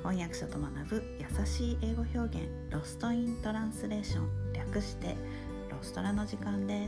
翻訳者と学ぶ優しい英語表現、ロストイントランスレーション、略してロストラの時間です。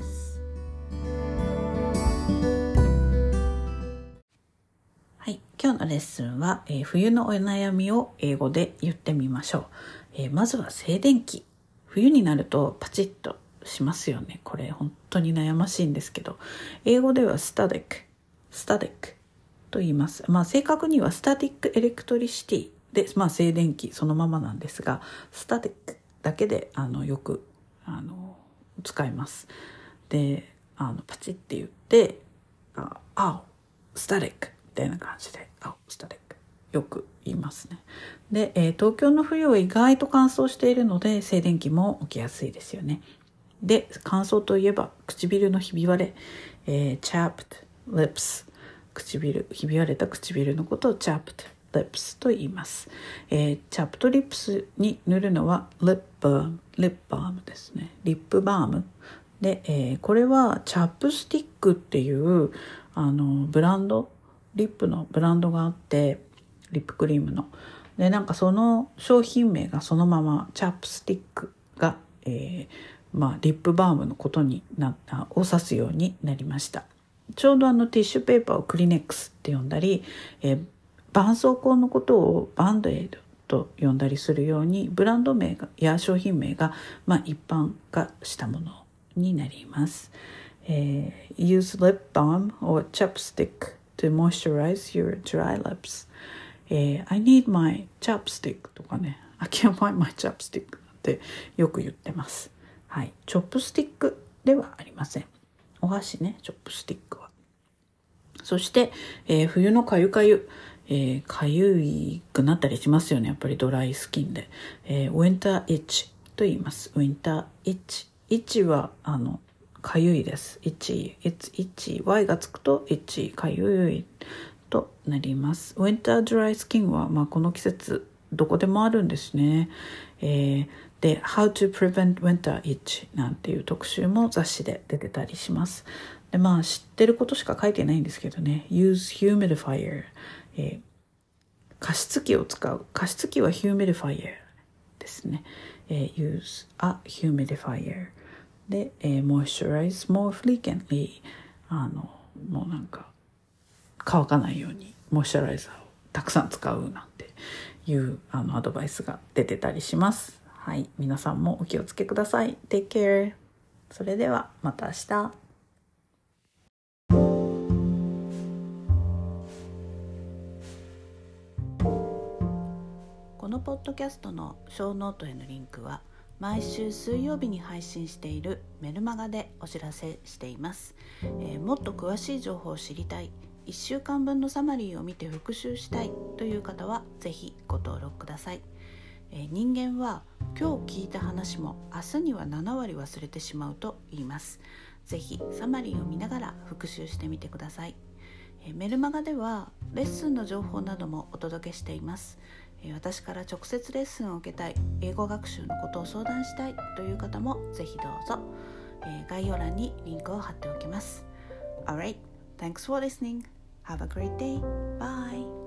はい、今日のレッスンは、冬のお悩みを英語で言ってみましょう。まずは静電気。冬になるとパチッとしますよね。これ本当に悩ましいんですけど、英語ではスタティックと言います。正確にはスタティックエレクトリシティで、静電気そのままなんですが、スタティックだけでよく使います。で、パチッって言ってスタティックみたいな感じでスタティックよく言いますね。で、東京の冬は意外と乾燥しているので静電気も起きやすいですよね。で、乾燥といえば唇のひび割れ、chapped lips、ひび割れた唇のことを chapped lips と言います。chapped lips に塗るのはリップバームですね。リップバームで、これはチャップスティックっていうブランド、リップのブランドがあって、リップクリームので、その商品名がそのままチャップスティックが、リップバームのことにを指すようになりました。ちょうどティッシュペーパーをクリネックスって呼んだり、絆創膏のことをバンドエイドと呼んだりするように、ブランド名や商品名が、一般化したものになります。Use lip balm or chapstick to moisturize your dry lips.I need my chapstick とかね、I can't find my chapstick ってよく言ってます。はい、チョップスティックではありません。お箸ね、チョップスティックは。そして、冬のかゆかゆいくなったりしますよね。やっぱりドライスキンで、winter itch と言います。winter itch はかゆいです。itch y がつくと itch かゆいとなります。winter dry skin は、この季節どこでもあるんですね。で How to prevent winter itch なんていう特集も雑誌で出てたりします。で、知ってることしか書いてないんですけどね。Use humidifier、加湿器を使う。加湿器は humidifier ですね。Use a humidifier で、moisturize more frequently、もう乾かないようにモイスチャライザーをたくさん使うなんていうアドバイスが出てたりします。はい、皆さんもお気をつけください。Take care。それではまた明日。このポッドキャストのショーノートへのリンクは毎週水曜日に配信しているメルマガでお知らせしています。もっと詳しい情報を知りたい、1週間分のサマリーを見て復習したいという方はぜひご登録ください。人間は今日聞いた話も明日には7割忘れてしまうと言います。ぜひサマリーを見ながら復習してみてください。メルマガではレッスンの情報などもお届けしています。私から直接レッスンを受けたい、英語学習のことを相談したいという方もぜひどうぞ。概要欄にリンクを貼っておきます。Alright, thanks for listening. Have a great day. Bye.